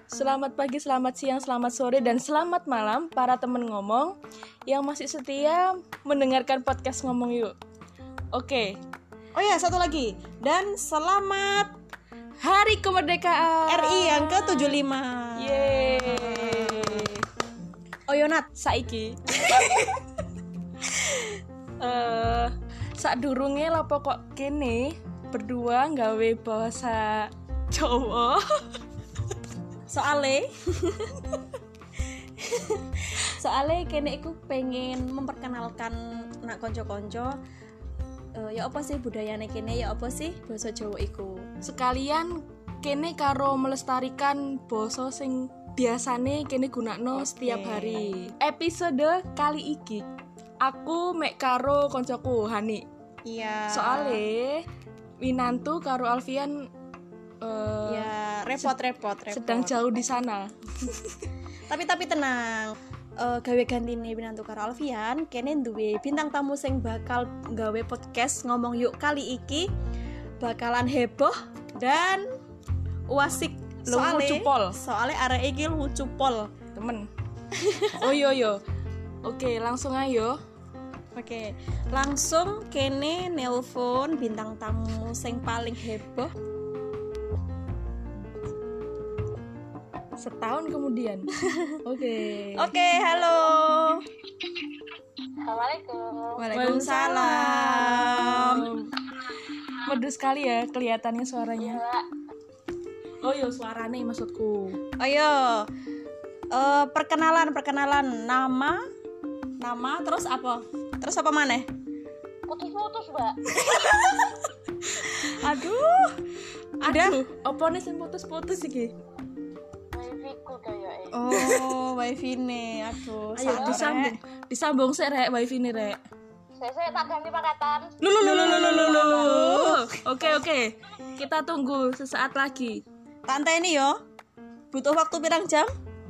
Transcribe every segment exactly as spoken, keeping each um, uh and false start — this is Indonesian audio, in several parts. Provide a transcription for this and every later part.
Selamat pagi, selamat siang, selamat sore, dan selamat malam para temen ngomong yang masih setia mendengarkan podcast Ngomong Yuk. Oke. Oh ya, satu lagi. Dan selamat Hari Kemerdekaan R I yang ke tujuh puluh lima. Yeay. Oh Yonat, Saiki uh, sak durunge lapo kok kene berdua nggawe bahasa Jawa. Soale Soale kene iku pengen memperkenalkan nak konco-konco uh, ya apa sih budayane kene, ya apa sih basa Jawa iku. Sekalian kene karo melestarikan basa sing biasane kene gunakno okay. setiap hari. Episode kali iki aku mek karo koncoku Hani. Iya. Soale Winantu karo Alfian uh, ya repot-repot repot. Sedang jauh di sana. tapi tapi tenang. Uh, gawe gantine Winantu karo Alfian, kene duwe bintang tamu sing bakal gawe podcast Ngomong Yuk kali iki bakalan heboh dan wasik. Soale lucu pol. Soale arek iki lucu pol, temen. Oh yo yo. Oke, langsung ayo. Oke, langsung kene nelpon bintang tamu sing paling heboh. Setahun kemudian. Oke. Oke, halo. Assalamualaikum. Waalaikumsalam. Merdu sekali ya kelihatannya suaranya. Ya, Oh yo, suarane maksudku. Ayo. Uh, perkenalan, perkenalan nama, nama terus apa? Terus apa maneh? putus-putus, Mbak. Aduh. Ada? Aduh, apa nih sing putus-putus iki? Wifi-ku kayaknya. Oh, wifi nih. Aduh, Ayo sabar, disambung. Rek. Disambung sik rek wifi nih rek. Saya saya tak ganti pakatan. Lu lu lu lu lu lu lu. Oke oke. Kita tunggu sesaat lagi. Tante ini yo. Butuh waktu pirang jam?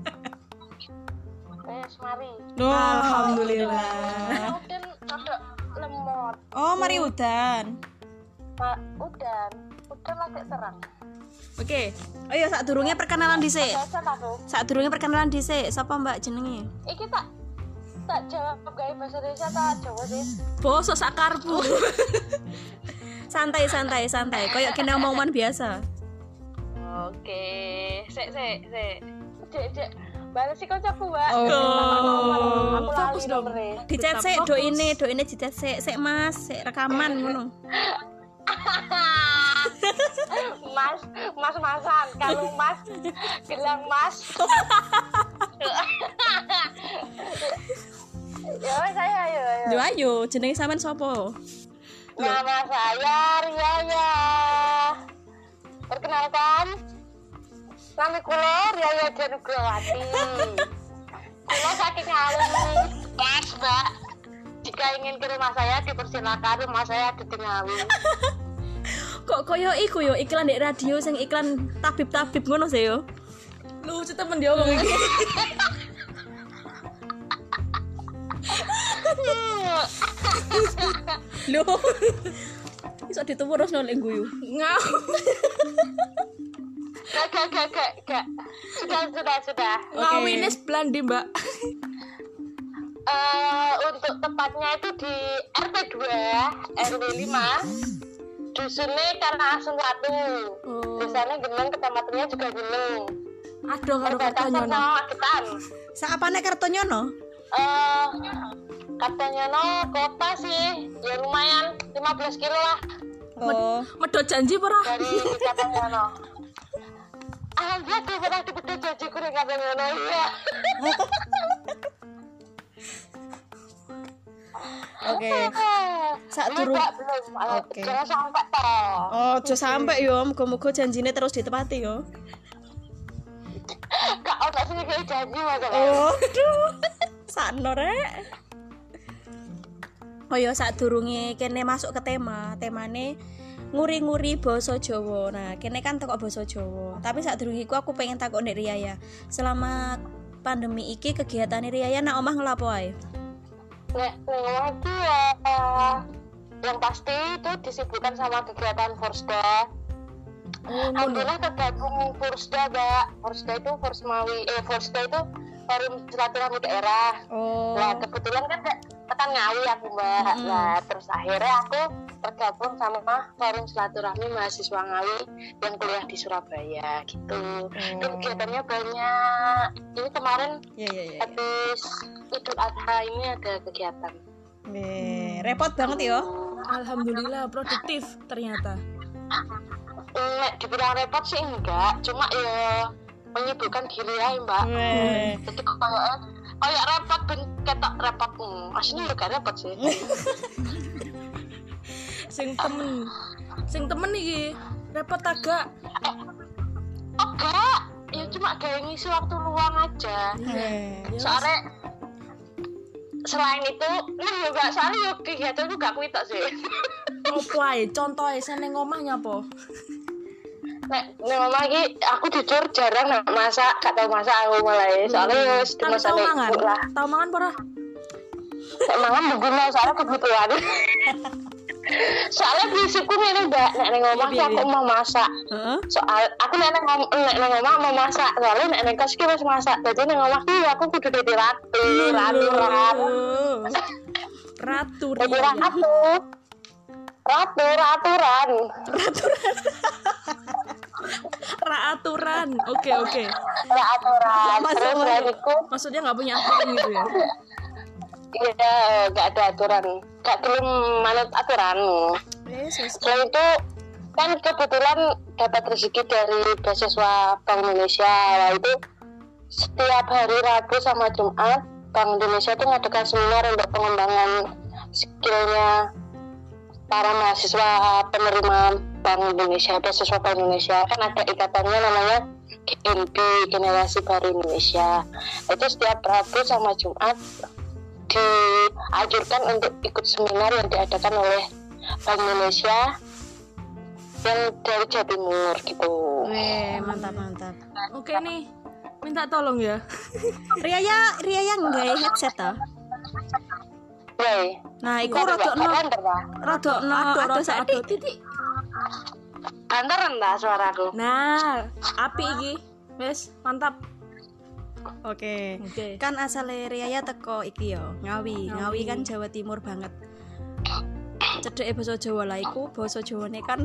Wes mari. Loh, Alhamdulillah. Udan rada lemot. Oh, mari udan. Pak, udan. Udan lagi terang. Oke. Oh iya, sak durunge perkenalan dhisik. Biasa aku. Sak durunge perkenalan dhisik. Sapa Mbak jenenge? Iki tak tak jawab gawe bahasa Indonesia tak Jawa sih. Bosok sakarpu. Santai santai santai. Kayak kene omongan biasa. Oke. Sik sik sik. Cek cek. Balas si kocokku, Mbak. Oh. Aku Fokus lali dong. nomere. Dicet Tetap sik fokus. do ini, do ini dicet sik, sik Mas, sik rekaman ngono. Mas, mas-masan. Kalau mas, gelang mas. Ya wes saya ayo ayo. Yo ayo, jenenge sampean sapa? Nama saya Riaya. Perkenalkan, nama kula Riaya Janugrawati. Kula saking Ngawi, Mas Mbak. Jika ingin ke rumah saya dipersilakan, rumah saya di Ngawi. Kok koyo iku yo iklan di radio sing iklan tabib-tabib ngono sih yo. Lucu temen dia ngomong iki. Loh. Iso dituwur terus nol ing guyu. Ngau. Gak gak gak gak gak. Sudah sudah sudah. Ngawine sebelah ndi, Mbak? Eh, untuk tepatnya itu di R T dua R W lima dusunnya karena Asem satu. Oh. Desanya Geneng, kecamatannya juga Geneng. Aduh karo Perbatasan Kartonyono. sama Magetan. Saapane Kartonyono? Eh, katanya no kota sih, ya lumayan lima belas kilo lah Oh. Medot janji ora? dari katanya no. Alhamdulillah tuh pernah dipedot janjiku dengan katanya no ya. Oke. Sak Ini durung- Mbak, belum. Eh, Oke. Jangan sampai toh. Oh, aja sampe yo, muga-muga janjine terus ditepati yo. Kak, otak sini kayak janji masalah. Oh, aduh. Sakno rek. Oh yo, sak durunge kene masuk ke tema, temane nguri-nguri basa Jawa. Nah, kene kan tekok basa Jawa. Tapi sak durunge iku aku pengen takok Nek Riaya. Selama pandemi iki kegiatane Riaya nak omah ngelapo ae? Nek ngomong itu ya yang pasti itu disibukkan sama kegiatan Forsda. Oh, alhamdulillah tergabung Forsda, Mbak. Forsda itu Forsmawi, eh Forsda itu Forum Silaturahmi Daerah. Oh. Nah kebetulan kan tekan Ngawi aku, Mbak. Mm-hmm. Nah terus akhirnya aku tergabung sama Forum Silaturahmi Mahasiswa Ngawi yang kuliah di Surabaya gitu. Dan kegiatannya banyak. Ini kemarin Ya ya ya. habis Idul Adha ini ada kegiatan. Eh, repot banget ya. Alhamdulillah produktif ternyata. Nek dibilang repot sih enggak, cuma ya menyibukkan diri ya Mbak. Weh. Jadi kayak kayak repot ben ketok repot. Hmm, aslinya juga repot sih. Sing temen, sing temen iki repot agak. Enggak, ya cuma kayak ngisi waktu luang aja. Eh. Soalnya selain itu, nah juga soalnya yo kegiatan itu gak kuitok sih. Opo ae contohe seneng omah nyapa? Nek nek mama iki aku jujur jarang nak masak, gak tau masak aku mulai. Soalnya wis Tapi masa tau mangan. lah. Tau mangan pora? Nek mangan begini soalnya kebutuhan. Soalnya prinsipku ngene Mbak, nek ning omah Iya, aku iya. mau masak. Heeh. Soal aku nek ning om- nek ning omah mau masak, soalnya nek ning kos ki wis masak. Dadi ning omah ki aku kudu dadi ratu, ratu, ratu. Ratu Dadi Ria. ratu. Ratu, raturan. Ra aturan. Oke oke. Raturan. Masuk, Terus masuk. bariku Maksudnya nggak punya aturan gitu ya? iya gak ada aturan. Gak belum manut aturan. Yesus. Selain itu kan kebetulan dapat rezeki dari beasiswa Bank Indonesia. Nah, itu setiap hari Rabu sama Jumat Bank Indonesia itu mengadakan seminar untuk pengembangan skillnya para mahasiswa penerima Bank Indonesia, beasiswa Bank Indonesia. Kan ada ikatannya namanya G N B, Generasi Baru Indonesia. Itu setiap Rabu sama Jumat dianjurkan untuk ikut seminar yang diadakan oleh Bank Indonesia yang dari Jawa Timur gitu. Weh, mantap mantap. Oke nih, minta tolong ya. Ria ya, Ria yang nggak headset toh. Woi, Nah, iku rodok no, banter lah. rodok no, Aduh, aduh rada saiki. aduh, titik. Banter rendah suaraku. Nah, api iki. Wes, mantap. Oke. Oke. Kan asale Ria ya teko iki yo, Ngawi. Ngawi. Ngawi kan Jawa Timur banget. Cedeke basa Jawa lah iku, basa Jawane kan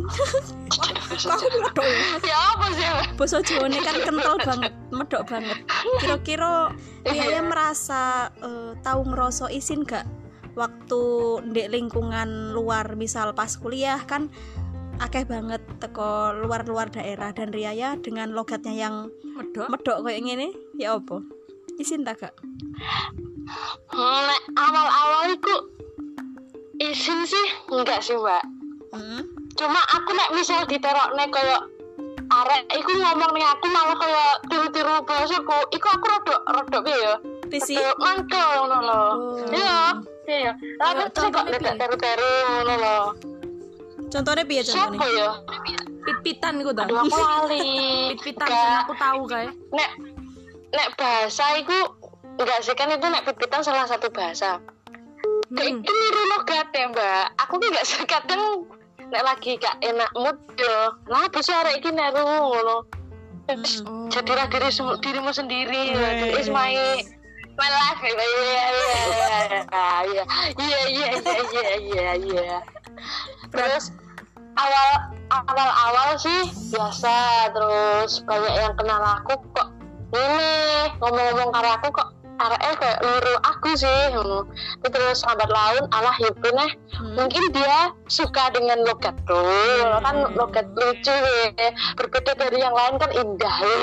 Ya apa sih? basa Jawane kan kental banget, medok banget. Kira-kira Ria ya merasa eh, tahu ngerasa isin gak waktu ndek lingkungan luar, misal pas kuliah kan akeh banget teko luar-luar daerah, dan Ria ya dengan logatnya yang Medok. medok kayak gini ya apa? Isin tak gak? Nek awal-awal itu isin sih enggak sih Mbak. Hmm? Cuma aku nek misal diterokne koyo arek iku ngomong ning aku malah koyo tiru-tiru bahasaku, iku aku rodok rodok piye ya? Risi? Rodok mangkel ngono lho. Oh. Iya, iya. Tapi Ayo, sih kok contohnya tidak piye? teru-teru ngono lho. Contohnya piye Siapa contohnya? ya? Pit-pitan iku ta. Aduh aku lali. Pit-pitan Enggak. sing aku tahu kae. Nek nek bahasa iku enggak sih, kan itu nek pit-pitan salah satu bahasa. Kayak Hmm. itu niru logat ya Mbak. Aku ki enggak kadang nek lagi gak enak mood yo. Lah bisa arek iki niru ngono. Terus Hmm. jadilah diri semu- dirimu sendiri. Weh. Is my my life. Iya iya iya iya iya iya iya iya. Terus awal awal awal sih biasa, terus banyak yang kenal aku kok ini ngomong-ngomong karo aku kok arek kayak niru aku sih ngono. Terus lambat laun alah ibu neh Hmm. mungkin dia suka dengan logatku kan, logat lucu ya, berbeda dari yang lain kan indah ya.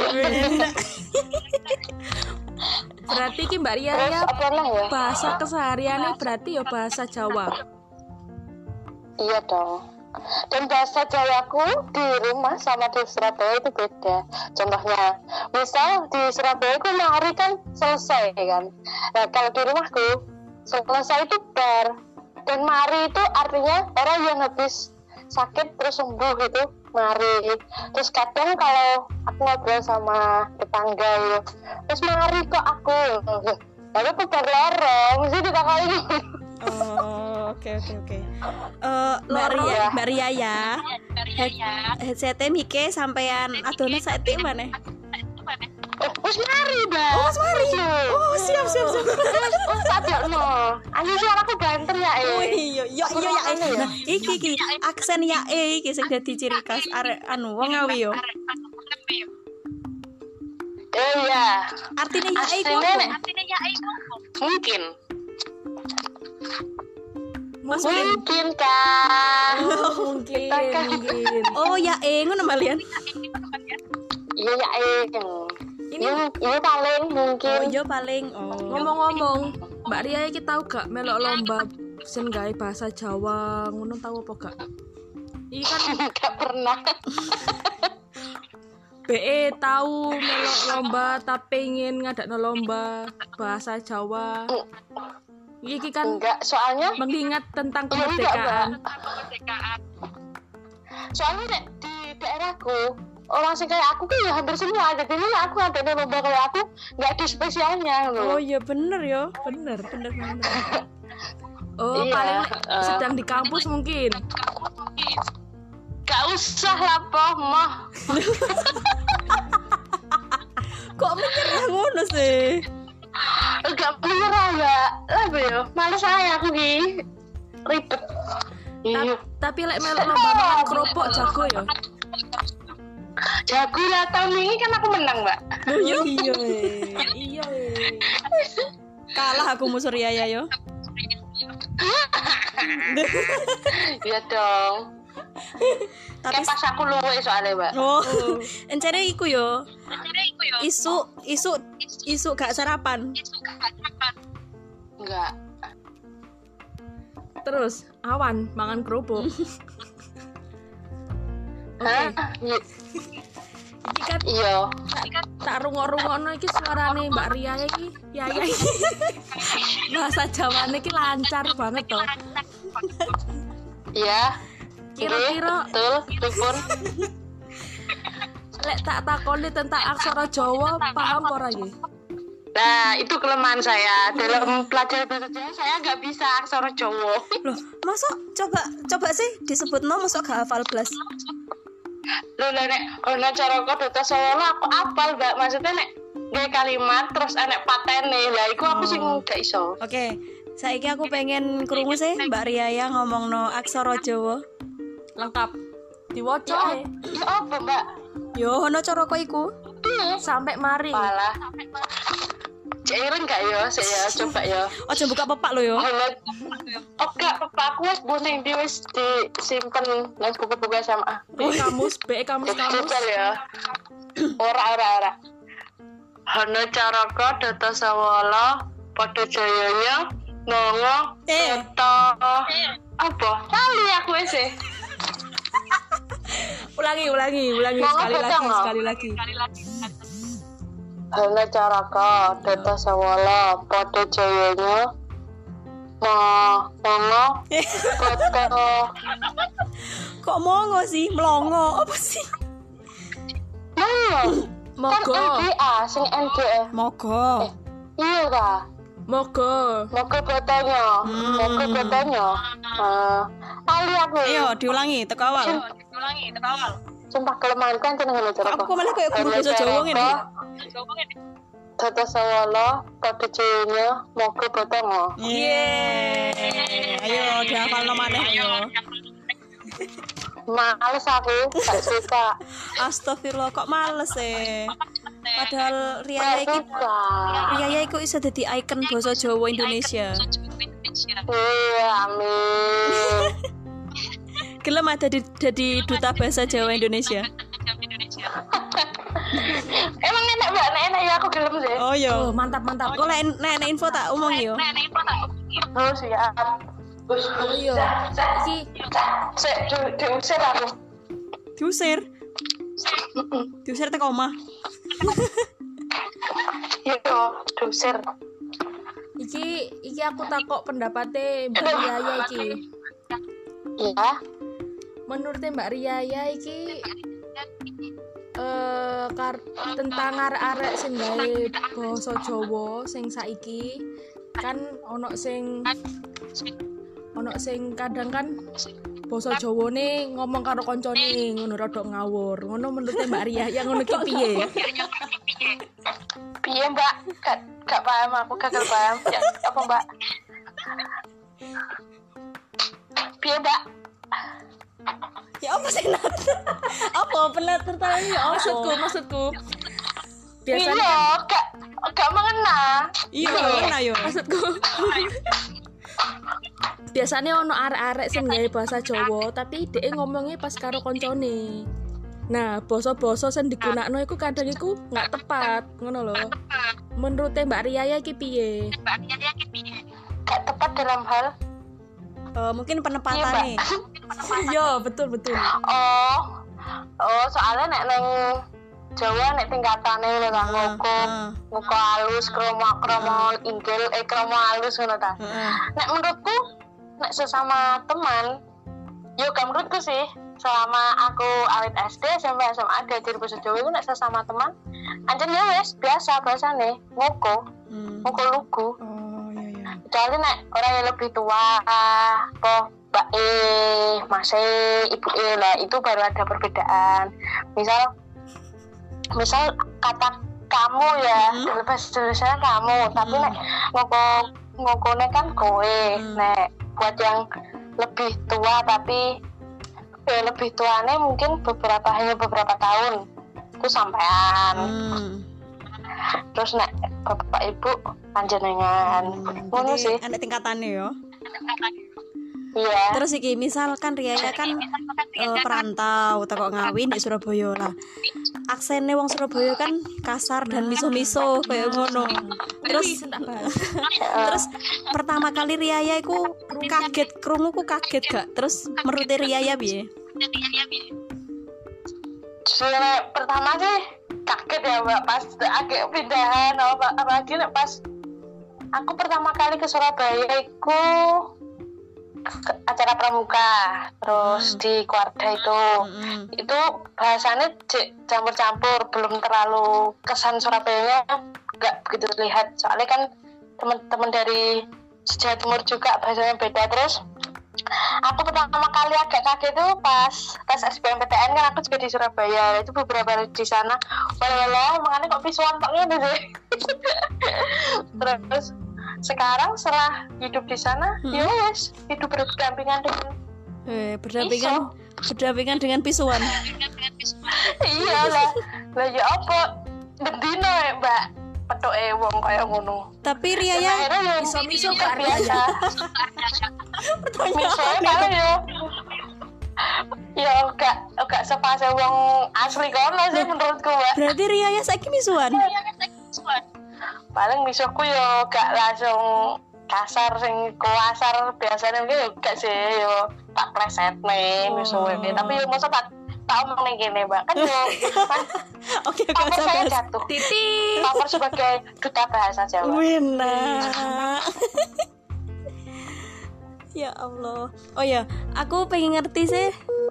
Berarti ki Mbak Ria Terus ya apa lah ya, bahasa kesehariannya berarti ya bahasa Jawa. iya dong. Dan bahasa Jawaku di rumah sama di Surabaya itu beda. Contohnya, misal di Surabaya aku mari kan selesai kan. Nah kalau di rumahku selesai itu bar, dan mari itu artinya orang yang habis sakit terus sembuh itu mari. Terus kadang kalau aku ngobrol sama tetangga ya, terus mari kok aku, lalu aku bar lorong, mesti ditakoni. Oh, Oke oke oke. Eh Mbak Ria, Mbak Ria ya. Headset mike sampean adone saetik maneh. Wes mari, Mbak. Oh, mari. Oh, siap siap siap. Oh, tak jakno. Ayo suaraku banter ya, Oh eh. iya, iya iya ya. Nah, iki iki aksen ya e iki sing dadi ciri khas arek anu wong Ngawi yo. Eh ya. Artine ya e iku Aslinya, apa? Nek, mungkin. Mungkin. Mungkin kan. Mungkin, Kita kan- mungkin. Oh ya e ngono mbalian. Iya ya, eh. Ini Ini, ini paling mungkin. Oh iya paling. Oh. ngomong-ngomong, Mbak Ria iki tahu gak melok lomba sing gawe bahasa Jawa ngono tahu apa gak? Iki kan Enggak pernah. B E tahu melok lomba tapi pengen ngadakno lomba bahasa Jawa. Iki kan Enggak, soalnya mengingat tentang Iya, enggak, kemerdekaan. soalnya Nek, di daerahku orang sing kayak aku kan ya hampir semua, jadi ini aku ada lomba kayak aku nggak ada spesialnya Oh loh. iya bener yo. Bener. Bener bener. Oh, Iya, paling eh. sedang di kampus mungkin. Gak usah lah poh mah. Kok menyerah ngono sih? Enggak menyerah mbak. Lah yo, males saya aku ki ribet. Iya. Tapi lek melok lomba makan kerupuk jago ya. Jago lah tahun ini kan aku menang mbak. Iya iya. Iya. Kalah aku musuh Ria ya yo. Iya dong. Tapi Kayak pas aku luwe soalnya mbak. oh, encene iku yo. Isu isu isu gak sarapan. Enggak. Terus awan mangan kerupuk. Oke, Hah? Iya. iki kan Iya. tak rungok-rungokno iki suarane Mbak Ria iki. Ya ya. Bahasa Jawane iki lancar banget toh. Iya. Kira-kira Betul, pripun? lek tak takoni tentang aksara Jawa paham ora iki? Nah, itu kelemahan saya. Dalam pelajaran bahasa Jawa saya nggak bisa aksara Jawa. Loh, masuk coba coba sih disebutno masuk gak hafal blas. Loh, lah, nek ono cara kok data solo aku apal, Mbak. Maksudnya nek gawe kalimat terus enek patene. Lah iku aku sing gak iso. Oke, saiki aku pengen krungu sih Mbak Ria ya ngomongno aksara Jawa. Lengkap. Diwaca ae. Ya apa, Mbak? Yo ono cara kok iku. Sampai mari. Malah. Cairan gak ya? Saya coba ya. Ojo buka pepak lo yo. Ono Oke, papa aku wis boning di wis disimpen nang buku-buku S M A. B E kamus, B E kamus kamus. Jajal ya. Ora ora ora. Hana caraka data sawala padha jayanya nongo Eh. data apa? Kali aku wis e. Ulangi, ulangi, ulangi Mau sekali apa, lagi, Cang? sekali lagi. Hana caraka data sawala padha jayanya nongo data Kok mongo sih? Melongo apa sih? Nongo. Mogo, Kan N G A sing N G A. Mogo. Iya ta. mogo. Moga botanya, moga botanya. Eh, ali aku. Ayo diulangi teko awal. Sumpah kelemahan kan jeneng ngene cara. Kok aku malah kayak guru bahasa Jawa ngene. Data sawala pada jenya moga botanya. Yeay. Ayo dihafalno maneh ayo. Males aku, gak suka. Astagfirullah kok males e. Padahal Ria Gak iki suka. Ria iki iso dadi ikon basa Jawa Indonesia. Iya, amin. Gelem ada di jadi duta bahasa Jawa Indonesia. Emang enak mbak, enak enak ya aku gelem sih. Oh yo. Oh, mantap, mantap. Kok nek nek info tak omong yo. Oh siap. Oh iya. Iki Sik, di- diusir aku. Diusir. Diusir teko omah. Iya, diusir. iki iki aku takok pendapatnya Mbak Riaya iki. Iya. Menurut Mbak Riaya iki eh kar- tentang arek-arek sing gawe basa Jawa sing saiki kan ono sing ono sing kadang kan basa Jawane ngomong karo koncone ngono rada ngawur. Ngono menurut Mbak Ria yang ngono ki piye? Piye Mbak? Gak gak paham aku gagal paham. Ya, apa Mbak? Piye Mbak? Ya apa sih Nat? Apa pelat tertawa ya apa? Maksudku, maksudku. Iya, Biasanya gak gak mengena. Iya, nah yo. maksudku. Biasanya ono arek-arek sing gawe bahasa Jawa, tapi dhek ngomongnya pas karo koncone. Nah, basa-basa sing digunakno iku kadang iku nggak tepat, ngono lho. Menurut Mbak Ria iki piye? Gak tepat dalam hal Uh, mungkin penempatannya. Iya, betul betul. oh oh soalnya nek neng Jawa nek tingkatane lho ta ngoko ngoko halus kromo kromo inggil eh kromo halus ngono ta. Nek menurutku nek sesama teman yo gak menurutku sih selama aku awit S D sampai S M A diajar bahasa Jawa itu nek sesama teman anjen ya wis biasa bahasane ngoko ngoko lugu. Oh iya iya. Kecuali nek orang yang lebih tua apa mbak E, mas E, ibu E lah itu baru ada perbedaan. Misal misal kata kamu ya hmm. bahasa Indonesia kamu hmm. tapi nek ngoko ngokone kan kowe hmm. nek buat yang lebih tua tapi eh, lebih tuane mungkin beberapa hanya beberapa tahun itu sampean hmm. terus nek bapak ibu panjenengan ngono hmm. sih ada tingkatannya yo. Iya. Terus iki misalkan Riaya kan uh, perantau teko Ngawi di Surabaya lah. Aksene wong Surabaya kan kasar dan miso-miso kayak ngono. Terus terus pertama kali Riaya iku kaget, krungu ku kaget gak? Terus menurut Riaya piye? Soalnya pertama sih kaget ya Mbak pas agak pindahan apa apalagi pas aku pertama kali ke Surabaya iku acara pramuka terus hmm. di Kuarda itu hmm. itu bahasanya campur-campur belum terlalu kesan Surabayanya nggak begitu terlihat soalnya kan teman-teman dari Jawa Timur juga bahasanya beda. Terus aku pertama kali agak kaget itu pas tes S B M P T N kan aku juga di Surabaya itu beberapa hari di sana walah makanya kok visual paknya deh. Terus sekarang setelah hidup di sana, hmm. ya wes hidup berdampingan dengan eh, berdampingan iso. berdampingan dengan pisuan. Iya lah, lah ya apa? Bendino ya Mbak, petoke wong kaya ngono. Tapi Riaya miso-miso gak biasa. Pertanyaan kalau ya, ya gak gak sepase wong asli kono sih menurutku Mbak. Berarti Riaya saiki misuan. Paling misuku yo gak langsung kasar sing kuasar biasanya mungkin yo gak sih yo tak pleset nih oh. misuwe tapi yo masa tak tak omong nih gini Mbak kan yo kan oke oke okay, saya jatuh titik pamer sebagai duta bahasa Jawa Wena ya Allah oh ya aku pengen ngerti sih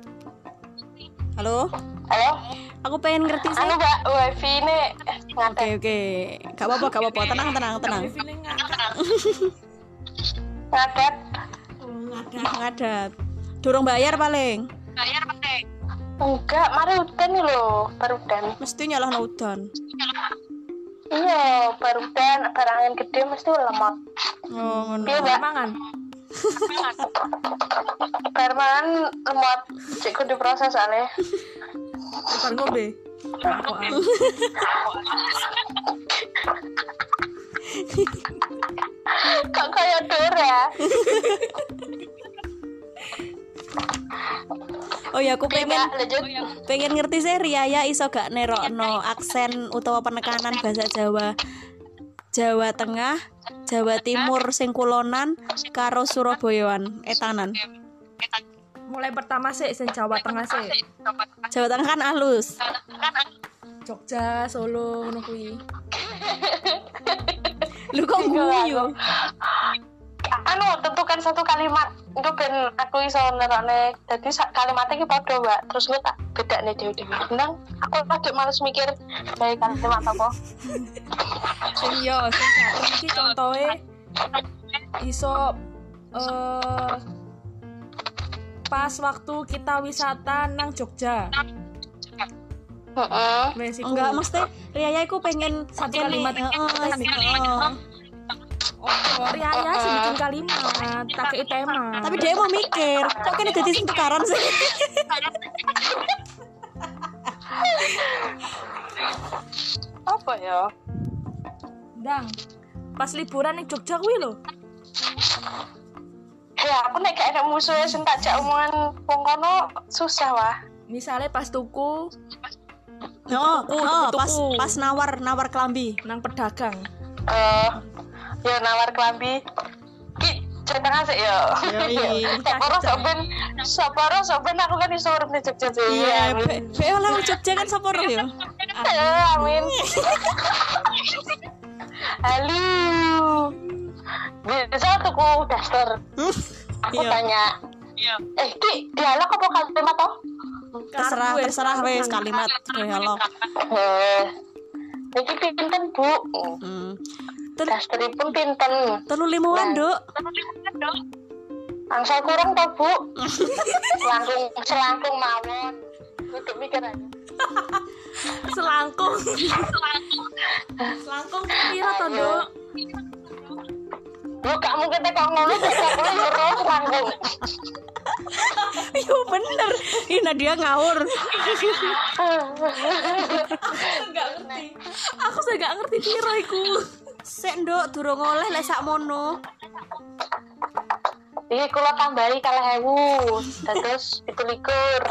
halo halo aku pengen ngerti sih anu Mbak wifi ini ngadet oke oke gak apa-apa gak apa-apa tenang tenang tenang ngadet ngadet ngadet durung bayar paling bayar paling enggak mari udan nih loh baru udan mesti nyalah udan iya baru udan barang angin gede mesti lemot oh ngono iya mangan bar mangan lemot cek kudu proses soalnya bukan ngombe kok kayak Dora. Oh ya aku pengen pengen ngerti sih Riaya iso gak nerokno aksen utawa penekanan bahasa Jawa Jawa Tengah Jawa Timur sing kulonan karo Surabayaan etanan. Mulai pertama sih sing Jawa Tengah sih. Jawa Tengah kan halus. Jogja, Solo ngono kuwi. Lu kok guyu? Anu tentukan satu kalimat itu ben aku iso nerone. Dadi kalimatnya iki padha, Mbak. Terus gue tak bedakne dhewe-dhewe. Nang aku lagi males mikir gawe kalimat apa. Sing yo sing iki contohe iso eh pas waktu kita wisata nang Jogja. Heeh. Wes iku. Enggak, mesti Riaya iku pengen Satu kene, kalimat. heeh, heeh. Oh, Riaya sih bikin kalimat, tak kei tema. Tapi dia mau mikir, kok kene dadi sing tukaran sih? Apa ya? Ndang. Pas liburan ning Jogja kuwi lho. Ya aku nek gak ada musuh sing tak jak omongan wong kono susah wah. Misalnya pas tuku Oh, Tuku, oh, tuku, pas tuku. pas nawar nawar kelambi. nang pedagang. Eh, ya nawar kelambi. Ki cerita sih ya. Yoi. Saporo soben, saporo soben aku kan iso urip ning Jogja sih. Iya, be be oleh wong Jogja kan sapa roh ya? Eh, amin. Halo. Bisa tuku daster. Aku Iya. tanya. Eh, Ki, dialog apa kalimat toh? Terserah, Kartu wes, terserah kartu. wes kalimat dialog. Eh, iki pinten, Bu? Hmm. Tel Dasteripun pinten? telu limuan, Duk. Angsal kurang toh, Bu? Selangkung, selangkung mawon. Untuk mikir aja. Selangkung. Selangkung pira to, Nduk? Bu, kamu kita kok ngono kok aku euro selangkung. Yo bener. Ih Nadia ngawur. Enggak ngerti. Aku saya enggak ngerti pira iku. Sik, Nduk, durung oleh lek sakmono. Iki kula tambahi kalih ewu, dados pitu likur.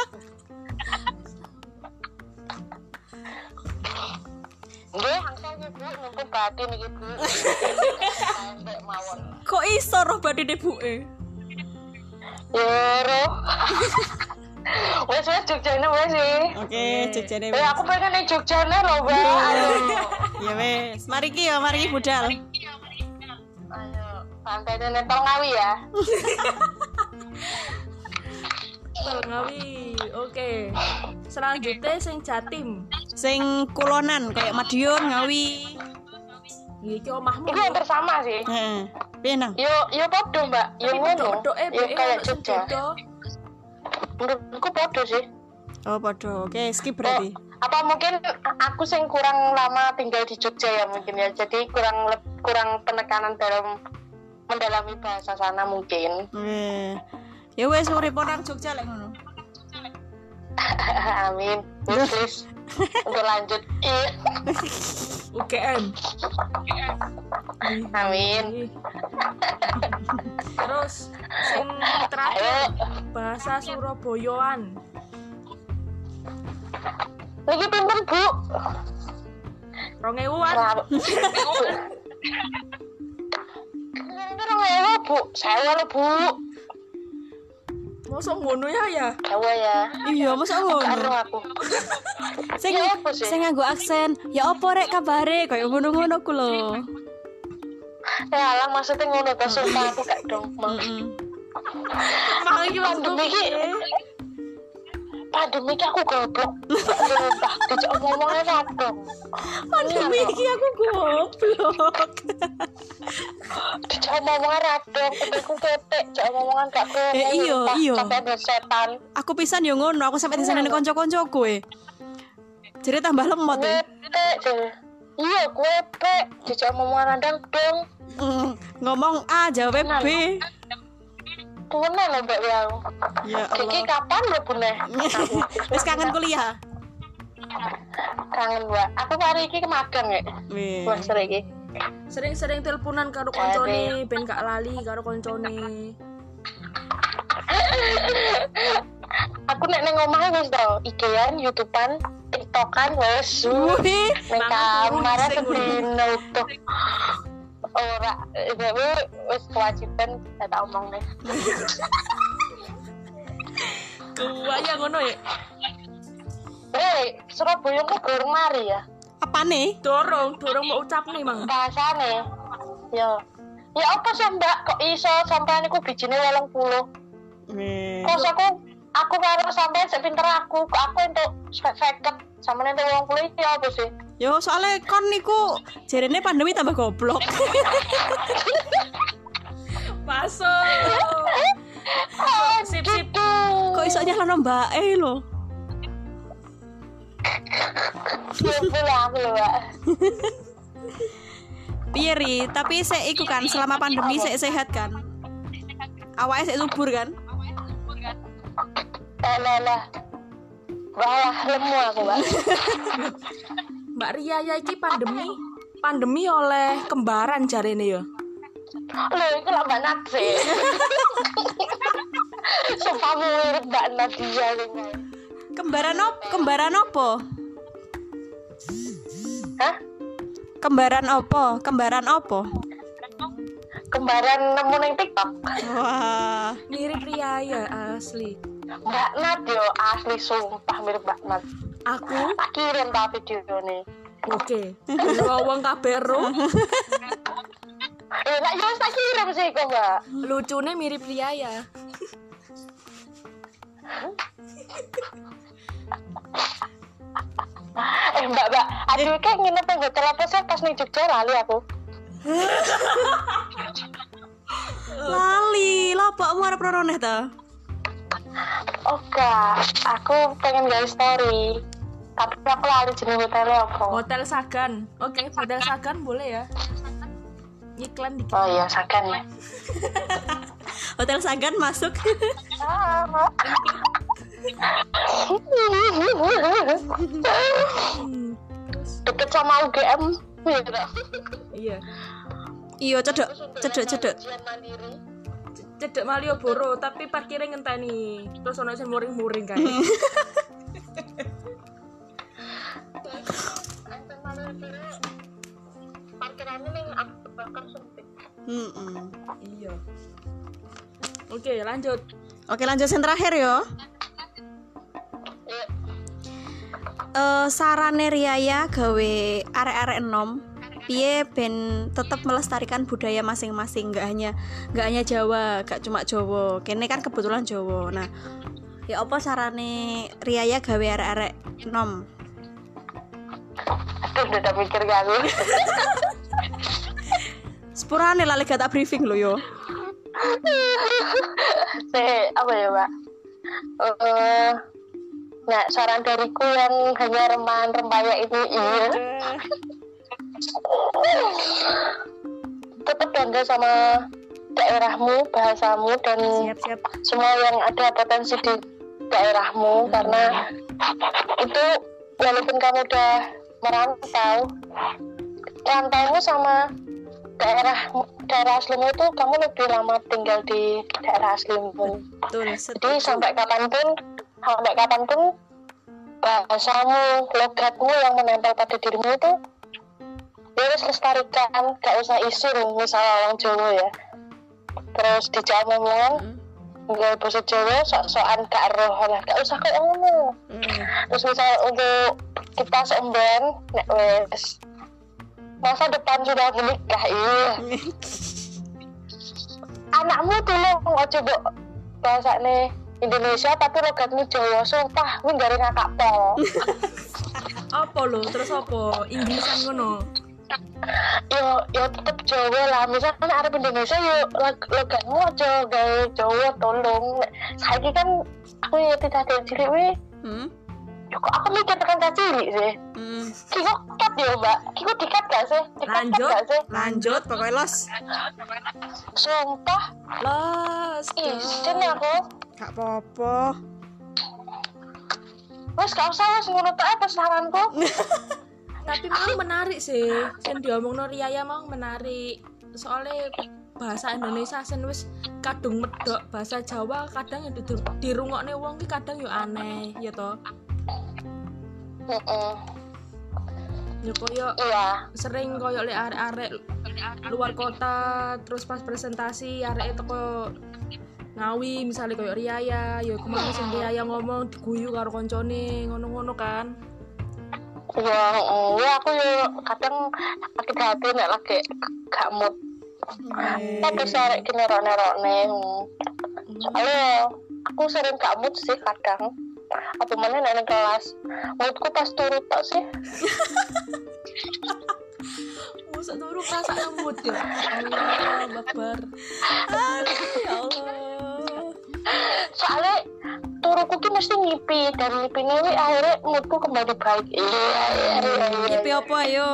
Nggih, angsal iki Bu, numpuk batin iki Bu. Sampai mawon. Kok iso roh badine buke? Yoro. Wes wes Jogjane wes sih. Oke, Jogjane Eh aku pengen ning Jogjane lho, Mbak. Ayo. ya wes. Mari ki ya, mari ki budal. Ayo, santai nempel ngawi ya. Ngawi. Oke. Selanjutnya sing Jatim. Sing kulonan kayak Madiun, Ngawi. Iki omahmu. Itu hampir sama sih. Heeh. Piye nang? Yo yo podo, Mbak. Yo ngono. Dok-dok eh Yo kayak ono sing Jogja. beda. Menurutku podo sih. Oh, padha. Oke, skip berarti. Apa mungkin aku sing kurang lama tinggal di Jogja ya mungkin ya. Jadi kurang leb- kurang penekanan dalam mendalami bahasa sana mungkin. Eh. Ya wes urip nang Jogja lek ngono. Amin. Please. Untuk lanjut. Iya. U G M. Amin. Terus sing Ayo. terakhir bahasa Surabayaan. Niki pinten, Bu? rong ewuan. Kira-kira ngewa, Bu. Saya lho, Bu. Mosok ngono ya ya. Jawa ya. Iya, masa Karo ngono. aku. Sing Ya apa sih? sing nganggo aksen, ya apa rek kabare kaya ngono-ngono ku lho. Ya lah maksudnya ngono ta sumpah aku gak dong. Heeh. Mang iki maksudku Pandemi iki. piye? Pandemi iki aku goblok. Sumpah dijak ngomongnya radong. Pandemi iki aku goblok. Dijak ngomongnya radong, aku ketek, dijak ngomongan gak krungu. Eh, iya, sumpah, iya. Sampai ada setan. Aku pisan yo ngono, aku sampe diseneni kanca-kancaku e. Jadi tambah lemot e. Ketek deh. Iya, gue pek dijak ngomongan radong dong. Mm, ngomong A jawab B. Pune lho Mbak ya. Ya Kiki Allah. kapan mlebune? Wis kangen kuliah. Kangen Mbak. Aku hari iki magang ya. Wih. Mas iki. Sering-sering teleponan karo koncone ben gak lali karo koncone. Aku nek nang omah wis to, I G-an, YouTube-an, TikTok-an wis. Wih. Ning Mangan kamar terus, sing sedino tuh. Ora, tapi wis kewajiban tak omong nih. Kuwaya ngono ya. Eh, Surabaya ku gorong mari ya. Apa nih? Dorong, dorong mau ucap nih, Mang. Bahasane. Ya. Ya apa sih Mbak kok iso sampean iku bijine wolong puluh. Wih. Kok aku aku karo sampean sik pinter aku, kok aku entuk seket sampean entuk wolong puluh iki apa sih? Yo soalnya kon niku jarene pandemi tambah goblok. Masuk. Sip sip. Kok iso nyalano Mbak E lho. Ya pulang aku lho, Mbak. Piye Ri, tapi sik iku kan selama pandemi sik sehat kan? Awake sik subur kan? Eh, lah lah. Wah, lemu aku, Mbak. Mbak Ria ya iki pandemi pandemi oleh kembaran jarene ya. Lho, iku lah Mbak Nat sih. Sumpah mirip Mbak Nadia ini. Kembaran op, kembaran opo? Hah? Kembaran opo? Kembaran opo? Kembaran nemu ning TikTok. Wah, Mirip Ria ya asli. Mbak Nat yo asli sumpah mirip Mbak Nat. Aku Tak kirim ta video nih. oke. Wong kabeh ro. Eh, nak yo tak kirim sih kok, Mbak. Lucune mirip Ria ya. Eh, Mbak, Mbak, aduh kayak nginep nang hotel apa sih pas ning Jogja lali aku. lali, lah pakmu arep roroneh ta? Oke, aku pengen gawe story. Tapi aku lali jeneng hotelnya apa. Hotel Sagan. Oke, Hotel Sagan boleh ya. Iklan dikit. Oh iya, Sagan ya. Hotel Sagan masuk. Ah, Mbak. Hmm, Deket sama U G M. iya. Iya, cedek, cedek, cedek. Ujian mandiri. Cedek Malioboro tapi parkirnya ngenteni. Terus ono sing muring-muring kae. Parkirannya ning Abu Bakar sempit. Heeh. Iya. Oke, lanjut. Oke, lanjut yang terakhir yo. Iya. Eh sarane Riaya gawe arek-arek enom piye ben tetep melestarikan budaya masing-masing, nggak hanya nggak hanya Jawa, gak cuma Jawa. Kene kan kebetulan Jawa. Nah, ya apa sarane Riaya gawe arek-arek enom? Aduh, udah tak mikir kali. Sepurane lali gak tak briefing lo yo. Saya apa ya, Mbak? Eh, nah, saran dariku yang hanya remahan-rempaya ini iya. Tetap bangga sama daerahmu, bahasamu dan Siap-siap. semua yang ada potensi di daerahmu, karena itu walaupun kamu udah merantau, rantaumu sama daerah daerah aslimu itu kamu lebih lama tinggal di daerah aslimu. Betul. Jadi sampai kapanpun, sampai kapanpun bahasamu, logatmu yang menempel pada dirimu itu ya harus lestarikan, gak usah isin misalnya orang Jawa ya. Terus dijawab ngomongan nggak bahasa Jawa sok-sokan gak roh lah, gak usah kayak ngono. Terus misalnya untuk kita seemben nek wes masa depan sudah menikah iya. Anakmu tolong ojo mbok bahasane Indonesia tapi logatmu Jawa, sumpah kuwi gare ngakak pol. Apa lo? Terus apa? Inggrisan ngono. Yo yo tetep Jawa lah, misalnya arep Indonesia yo logatmu aja gawe Jawa tolong. Saiki kan aku ya tidak ada cilik we. Hmm. Yo kok aku mikir tekan cilik sih. Hmm. Kiko cut yo, Mbak. Kiko dikat gak sih? Dikat Lanjut. gak sih? Lanjut pokoknya los. Sumpah, Los. isin aku. Gak apa-apa. Wes gak usah wes ngono tok apa saranku. Tapi memang menarik sih. Sing diomongno Riaya mau menarik. Soalnya bahasa Indonesia sen wis kadung medok, bahasa Jawa kadang ya di- dirungokne wong ki kadang yo aneh, ya toh. Heeh. Ya koyo Iya. sering koyo lek arek-arek luar kota terus pas presentasi arek teko Ngawi misalnya koyo Riaya, ya kemana sing Riaya ngomong diguyu karo koncone ngono-ngono kan. Iya, heeh. Ya aku yo kadang sakit hati nek lagi gak mood. Tapi sarek ki nerok-nerokne. Soalnya aku sering gak mood sih kadang. Apa mana nek kelas moodku pas turu tok sih. Wes sesuk turu rasa lemut ya. Allah Akbar. Ya Allah. Soalnya turuku ki mesti ngipi dan ngipine wi akhirnya moodku kembali baik. Iya iya iya. Ngipi apa ayo?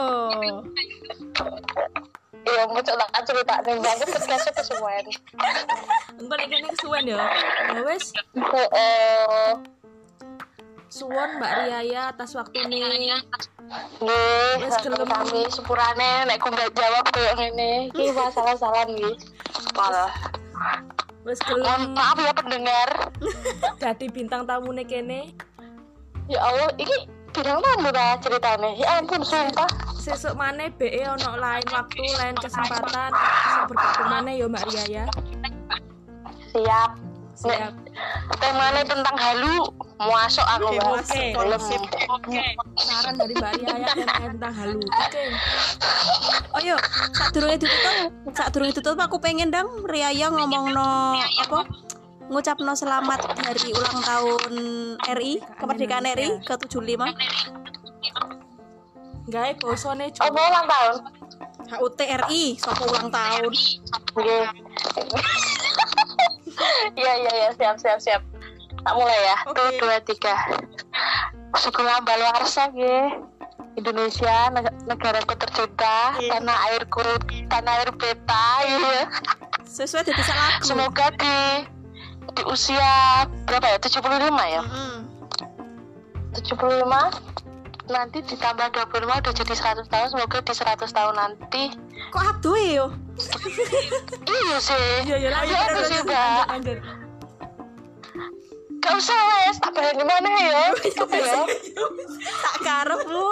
Iya mau coba cerita ning banget podcast kesuwen. Engko nek kene kesuwen ya. Ya wis, Heeh. suwon Mbak Riaya atas waktune. Nggih, Wes gelem. kami sepurane nek ku nggak jawab koyo ngene. Iki masalah-masalah nggih. Malah. Wis Mohon gelem maaf ya pendengar. dadi bintang tamune kene. Ya Allah, ini bidang tamu ta ceritane. Ya ampun sumpah. Sesuk maneh B E ono lain waktu, lain kesempatan. Iso bergabung maneh ya Mbak Riaya. Siap. Siap. Temanya tentang halu, muasok aku Oke, Mbak. oke. Belum. Saran dari Mbak Riaya tema tentang halu. Oke. Oh yo, saat durunge ditutup, saat durunge ditutup aku pengen dong Riaya ngomongno apa? Ngucapno selamat hari ulang tahun R I, kemerdekaan R I ke tujuh puluh lima. Gawe bosone Oh, mau ulang tahun. H U T R I, sapa ulang tahun. Nggih. Iya iya iya, siap siap siap. Tak mulai ya. Oke. Tuh dua tiga. Sekolah Balwarsa nggih. Indonesia neg- negaraku tercinta, Iya. tanah airku, tanah air beta ya. Sesuai dari lagu. Semoga di di usia berapa ya? tujuh puluh lima ya? Mm-mm. tujuh puluh lima nanti ditambah dua puluh lima udah jadi seratus tahun. Semoga di seratus tahun nanti Kok aduh yo? iya sih. Iya ya lanjut Iya, terus sih, lanjut, Mbak. lanjut. Gak usah wes, tak bayar gimana ya? Cukup ya. Tak karepmu.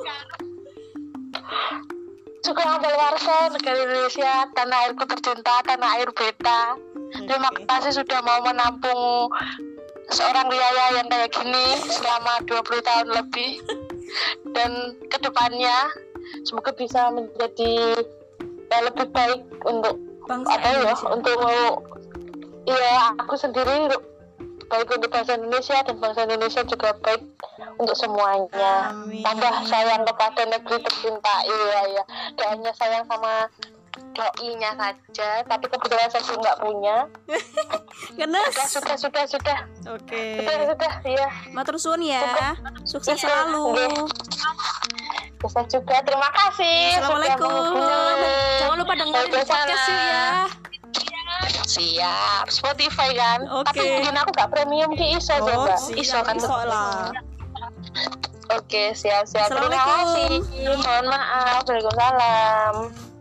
Suku Ambal Warsa, negara Indonesia, tanah airku tercinta, tanah air beta. Terima kasih sudah mau menampung seorang Riaya yang kayak gini selama dua puluh tahun lebih. Dan kedepannya semoga bisa menjadi yang lebih baik untuk Bangsa apa ya, Indonesia. untuk iya aku sendiri baik untuk bangsa Indonesia dan bangsa Indonesia juga baik untuk semuanya. Amin. Tambah sayang kepada negeri tercinta. Iya ya, gak hanya sayang sama doi-nya saja, tapi kebetulan saya juga nggak punya. Genes. Sudah sudah sudah sudah Oke. sudah sudah iya. Matur suwun ya. Sukses selalu. Bisa juga, terima kasih. Assalamualaikum. Sudah menghubungi. Jangan lupa dengerin podcast yuk ya. Siap, Spotify kan. Oke. Tapi mungkin aku gak premium ki iso Oh, coba. siap. Iso kan. Iso lah. Oke, siap siap. Terima Assalamualaikum. kasih. Mohon maaf. Waalaikumsalam.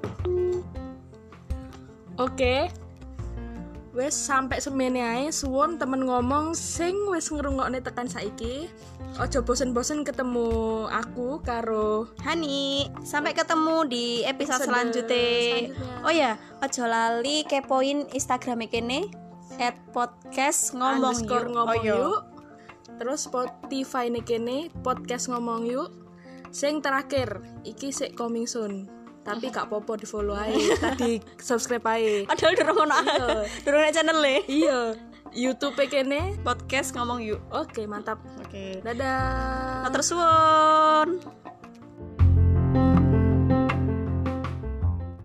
Oke. Wes sampai semene ae suwon temen ngomong sing wis ngrungokne tekan saiki. Ojo bosen-bosen ketemu aku karo Hani, sampai ketemu di episode Episode selanjutnya. selanjutnya. Oh ya, ojo lali kepoin Instagram kene at podcast ngomong underscore yuk. ngomong Oh, yo. yuk. Terus Spotify nih kene podcast ngomong yuk. Sing terakhir iki sik coming soon. Tapi gak popo di follow aja. Tadi subscribe aja. Padahal durung ono. Iya. Durung ono channel e. Iya. YouTube kene. Podcast ngomong yuk. Oke, mantap. Oke. Dadah. Matur suwun.